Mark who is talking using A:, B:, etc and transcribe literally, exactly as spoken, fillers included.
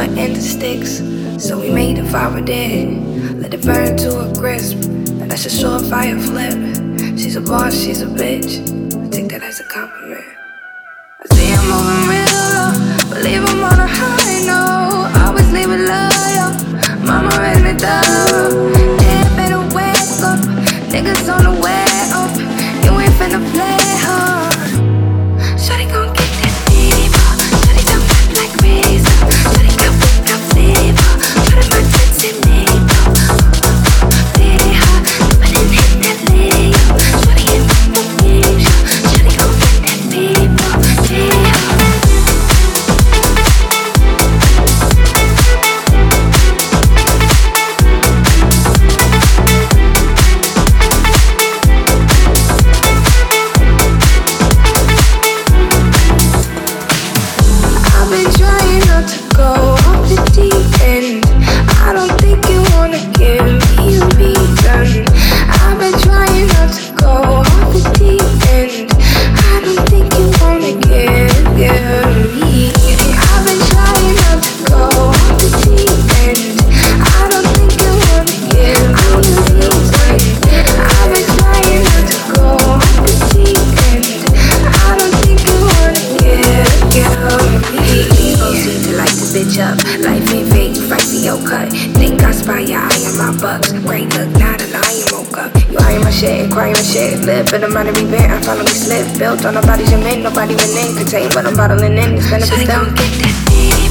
A: wood and the sticks, so we made the fire dead. Let it burn to a crisp, and that's a surefire flip. She's a boss, she's a bitch. I take that as a compliment. I see I'm moving real low, but leave him on a high note. Always leave it loyal. Mama ran it down. Yeah, better wake up. Niggas on the way up. You ain't finna play hard. Shawty gon' get that fever. Shawty don't act like razor. Shawty got whip got flavor. Put in my tits and make up. Pretty hot, but then hit that layup. Shawty in the game. Shawty gon' get that fever. Pretty hot. I've been trying not to go off the deep end. I don't think you wanna give me a reason. I've been trying not to go off the deep end. I don't think you wanna give, give me. I've been trying not to go off the deep end. I don't think you wanna give me a reason. I've been trying not to go off the deep end. I don't think you wanna give, give me. Need to light this bitch up. Life ain't fake, fight for your cut. Think I spy your eye on my bucks. Great look, not a lion woke up. You eyeing my shit, crying my shit. Live for the money repent, I finally slip. Built on nobody's your men, nobody went in. Could tell you what I'm bottling in, it's gonna be done. Get that